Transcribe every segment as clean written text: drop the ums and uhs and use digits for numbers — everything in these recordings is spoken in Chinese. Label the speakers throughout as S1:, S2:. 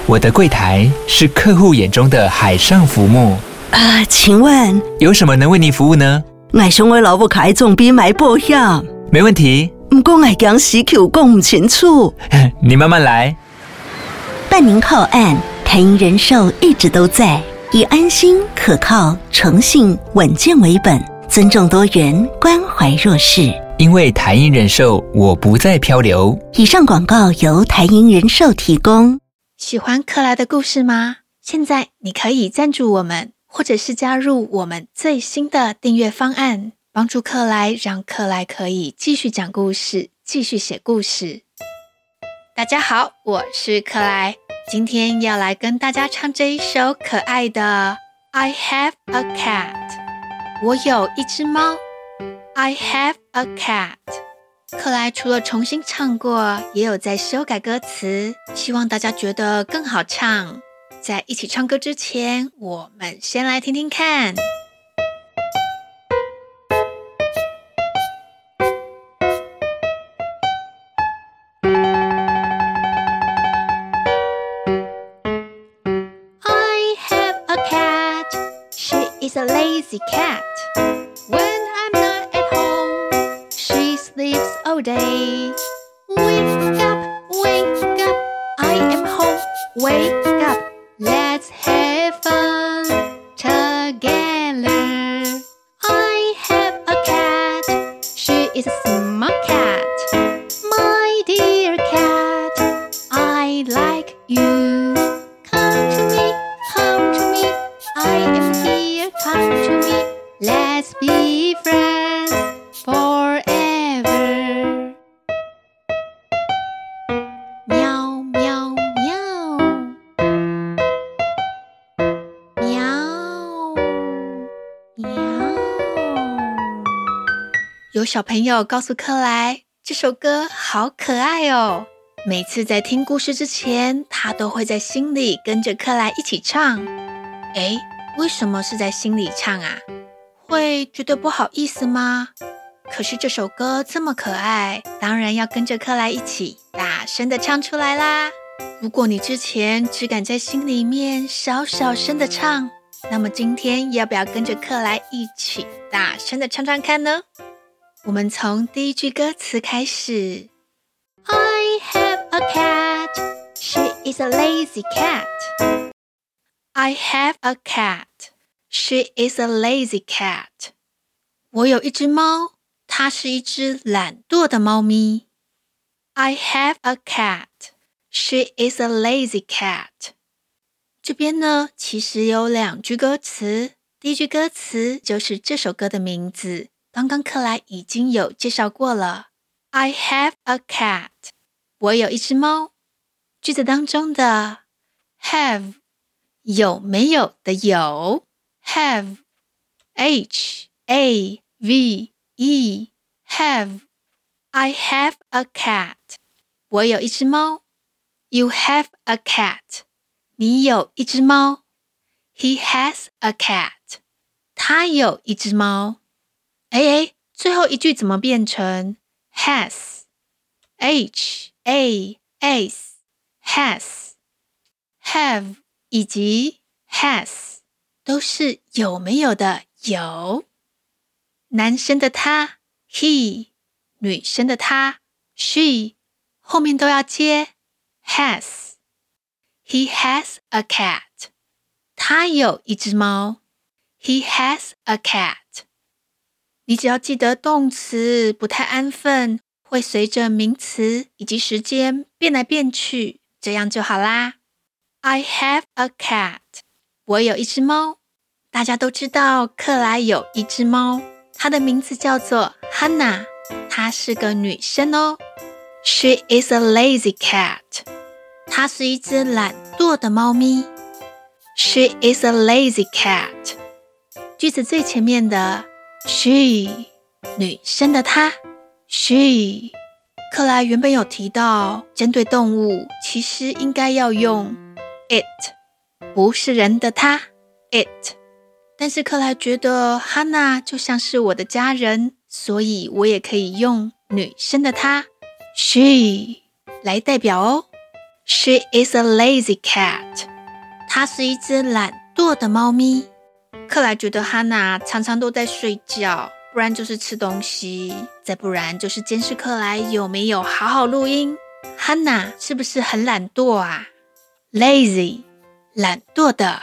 S1: 我的櫃檯是客戶眼中的海上浮木。
S2: 請問
S1: 有什麼能為您服務呢？
S2: 我想我老母開總比買保險。
S1: 沒問題。
S2: 不過我驚死口講不清楚。
S1: 你慢慢來。
S2: 辦您靠岸，台銀人壽一直都在，以安心、可靠、誠信、穩健為本，尊重多元，關懷弱勢。
S1: 因為台銀人壽，我不再漂流。
S2: 以上廣告由台銀人壽提供。
S3: 喜歡克萊的故事嗎？現在你可以贊助我們，或者是加入我們最新的訂閱方案，幫助克萊，讓克萊可以繼續講故事，繼續寫故事。大家好，我是克萊，今天要來跟大家唱這一首可愛的 I have a cat。我有一隻貓。I have a cat。 克萊除了重新唱過，也有在修改歌詞，希望大家覺得更好唱。在一起唱歌之前，我們先來聽聽看。I have a cat. She is a lazy cat. Sleeps all day. Wake up, I am home. Wake up, let's have fun together. I have a cat. She is a smart cat. My dear cat, I like you. Come to me, I am here. Come to me, let's be friends forever.有小朋友告訴克萊，這首歌好可愛哦。每次在聽故事之前，他都會在心裡跟着克萊一起唱。為什麼是在心裡唱啊？會覺得不好意思嗎？可是這首歌這麼可愛，當然要跟着克萊一起大聲的唱出來啦。如果你之前只敢在心裡面小小聲的唱，那麼今天要不要跟着克萊一起大聲的唱唱看呢？我們從第一句歌詞開始。I have a cat. She is a lazy cat. I have a cat. She is a lazy cat. 我有一隻貓，它是一隻懶惰的貓咪。I have a cat. She is a lazy cat. 這邊呢，其實有兩句歌詞。第一句歌詞就是這首歌的名字。剛剛克萊已經有介紹過了 I have a cat， 我有一隻貓。句子當中的 have 有沒有的有 have H-A-V-E have I have a cat， 我有一隻貓。You have a cat， 你有一隻貓。He has a cat， 他有一隻貓。最後一句怎麼變成 has H-A-S has have 以及 has 都是有沒有的有。男生的他 he， 女生的她 she， 後面都要接 has。 He has a cat， 他有一隻貓。He has a cat。你只要記得動詞不太安分，會隨着名詞以及時間變來變去，這樣就好啦。I have a cat， 我有一隻貓。大家都知道克萊有一隻貓，她的名字叫做 Hannah， 她是個女生哦。She is a lazy cat， 她是一隻懶惰的貓咪。She is a lazy cat。 句子最前面的She， 女生的她 She。 克萊原本有提到針對動物其實應該要用 it， 不是人的她 it， 但是克萊覺得哈娜就像是我的家人，所以我也可以用女生的她 She 來代表哦。 She is a lazy cat. 她是一隻懶惰的貓咪。克萊覺得哈娜常常都在睡覺，不然就是吃東西，再不然就是監視克萊有沒有好好錄音。哈娜是不是很懶惰啊？ Lazy 懶惰的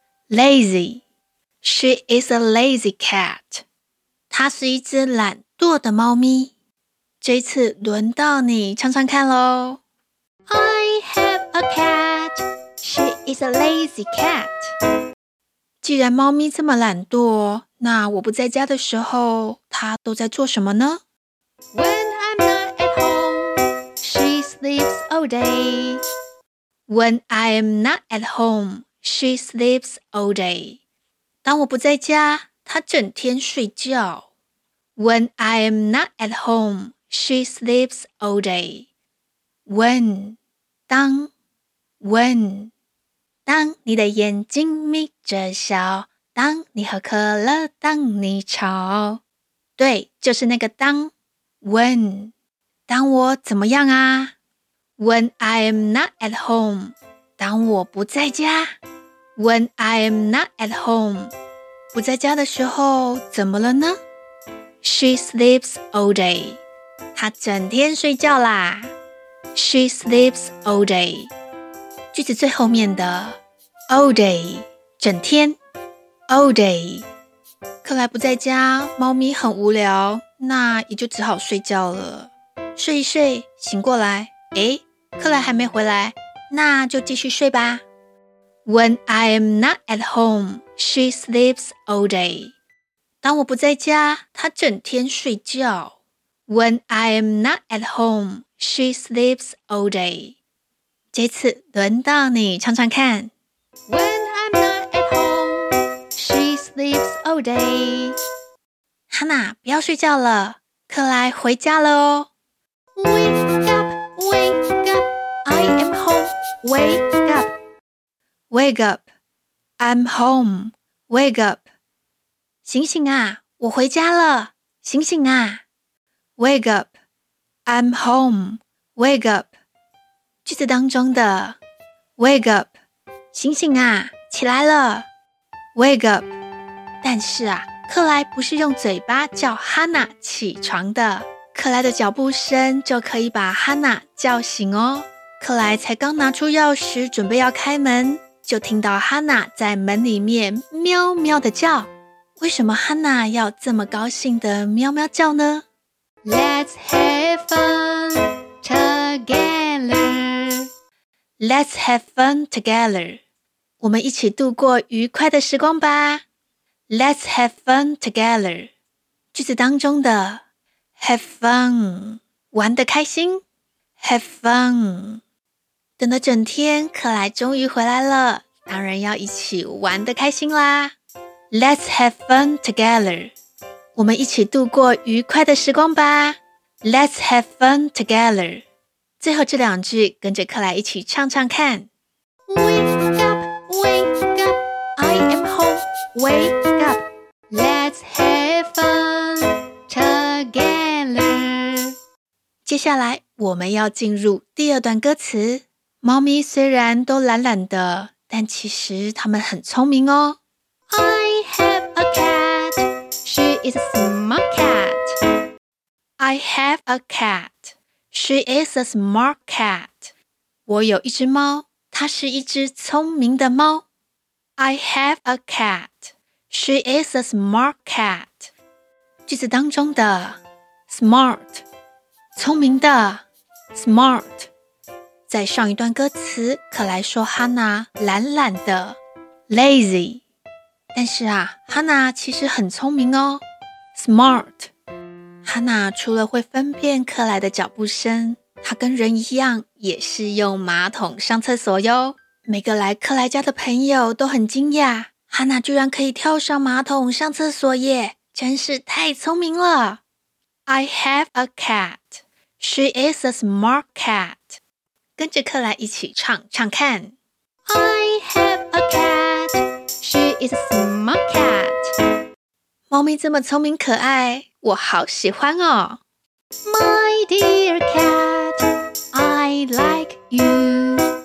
S3: Lazy. She is a lazy cat. 她是一隻懶惰的貓咪。這一次輪到你唱唱看咯。I have a cat. She is a lazy cat. 既然貓咪這麼懶惰，那我不在家的時候，它都在做什麼呢？ When I'm not at home, she sleeps all day. When I am not at home, she sleeps all day. 當我不在家，她整天睡覺。When I am not at home, she sleeps all day. When 當 When 當你的眼睛眯着笑，當你喝可樂，當你吵。對，就是那個當 When 當我怎麼樣啊？ When I am not at home 當我不在家。 When I am not at home 不在家的時候怎麼了呢？ She sleeps all day 她整天睡覺啦。 She sleeps all day 句子最後面的 all day 整天 all day 克萊不在家，貓咪很無聊，那也就只好睡覺了。睡一睡醒過來，誒，克萊還沒回來，那就繼續睡吧。 When I am not at home, she sleeps all day 當我不在家，她整天睡覺。 When I am not at home, she sleeps all day 這次輪到你唱唱看。 When I'm not at home, she sleeps all day 哈娜，不要睡覺了，克萊回家了哦。 Wake up, wake up, I am home, wake up. Wake up, I'm home, wake up. 醒醒啊，我回家了，醒醒啊。Wake up, I'm home, wake up. 句子當中的 wake up 醒醒啊，起來了 wake up 但是啊，克萊不是用嘴巴叫哈娜起床的，克萊的腳步聲就可以把哈娜叫醒哦。克萊才剛拿出鑰匙準備要開門，就聽到哈娜在門裡面喵喵的叫。為什麼哈娜要這麼高興的喵喵叫呢？ Let's have fun together. Let's have fun together. 我們一起度過愉快的時光吧。Let's have fun together. 句子當中的 have fun 玩得開心 have fun 等了整天，克萊終於回來了，當然要一起玩得開心啦。Let's have fun together. 我們一起度過愉快的時光吧。Let's have fun together. 最後這兩句跟着克萊一起唱唱看。Wake up, wake up, I am home, wake up. Let's have fun together. 接下來我們要進入第二段歌詞。貓咪雖然都懶懶的，但其實它們很聰明哦。I have a cat, she is a smart cat. I have a cat, she is a smart cat. 我有一隻貓，它是一隻聰明的貓。I have a cat, she is a smart cat. 句子當中的 smart 聰明的 smart 在上一段歌詞，克萊說哈娜懶懶的 lazy， 但是啊，哈娜其實很聰明哦 smart。 哈娜除了會分辨克萊的腳步聲，她跟人一樣也是用馬桶上廁所喲。每個來克萊家的朋友都很驚訝，哈娜居然可以跳上馬桶上廁所耶，真是太聰明了。 I have a cat, she is a smart cat. 跟着克萊一起唱唱看。 I have a cat, she is a smart cat. 貓咪這麼聰明可愛，我好喜歡哦。 My dear cat, I like you.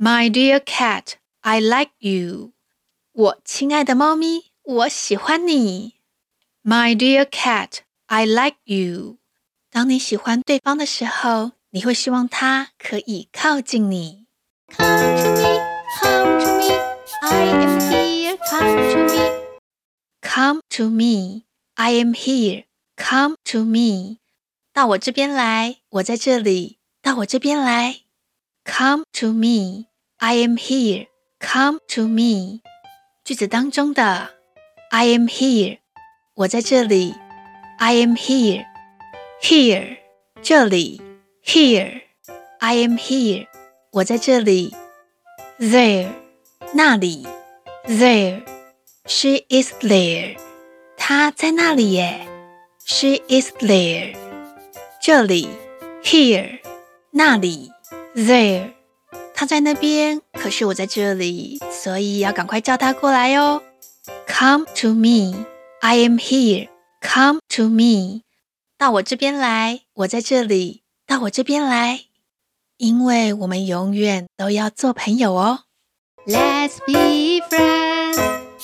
S3: My dear cat, I like you. 我親愛的貓咪，我喜歡你。My dear cat, I like you. 當你喜歡對方的時候，你會希望他可以靠近你。Come to me, come to me, I am here, come to me. Come to me, I am here, come to me. 到我這邊來，我在這裡，到我這邊來。Come to me, I am here, come to me. 句子當中的 I am here, 我在這裡 I am here, here, 這裡 here, I am here, 我在這裡 there, 那裡 there, she is there, 她在那裡耶 she is there, 這裡 here, 那裡 there, 她在那邊，可是我在這裡，所以要趕快叫她過來哦。Come to me, I am here, come to me. 到我這邊來，我在這裡，到我這邊來。因為我們永遠都要做朋友哦。Let's be friends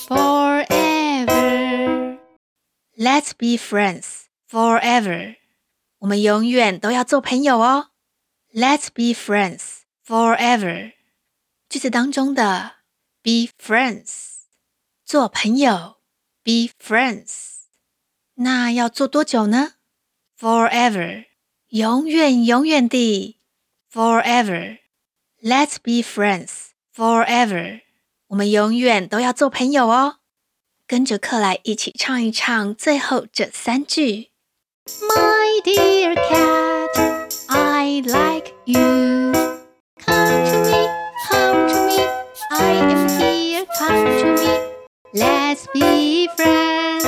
S3: forever. Let's be friends forever. 我們永遠都要做朋友哦。Let's be friends forever. 句子當中的 be friends, 做朋友 be friends. 那要做多久呢？ Forever, 永遠永遠地 Forever. Let's be friends forever. 我們永遠都要做朋友哦。跟着克萊一起唱一唱最後這3句。My dear cat, I like you. Come to me, come to me, I am here, come to me. Let's be friends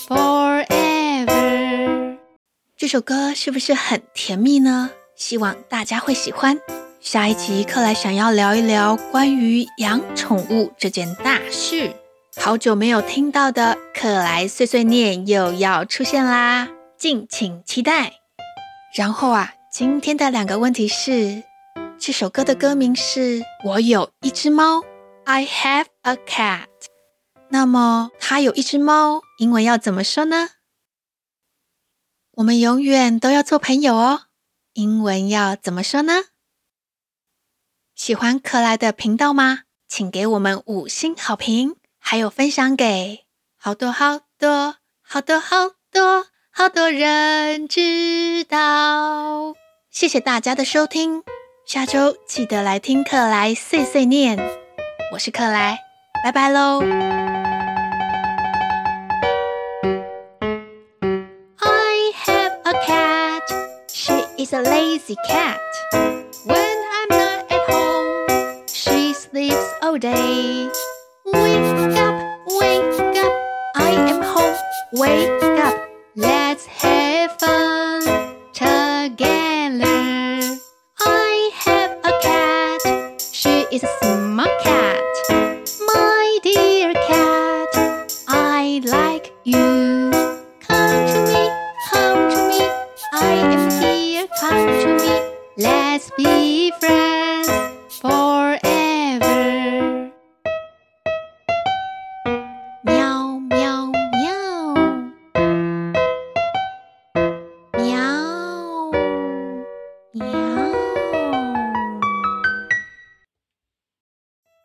S3: forever. 這首歌是不是很甜蜜呢？希望大家會喜歡。下一集克萊想要聊一聊關於養寵物這件大事。好久沒有聽到的克萊碎碎念又要出現啦，敬請期待。然後今天的2個問題是，這首歌的歌名是我有一隻貓 I have a cat。 那麼他有一隻貓，英文要怎麼說呢？我們永遠都要做朋友哦，英文要怎麼說呢？喜歡克萊的頻道嗎？請給我們5星好評，還有分享給好多好多好多好多好多人知道。謝謝大家的收聽，下周記得來聽克萊碎碎念。我是克萊，拜拜咯。I have a cat, she is a lazy cat. When I'm not at home, she sleeps all day. Wake up, I am home. Wake up, let's have fun together. I have a cat, she is a smart cat.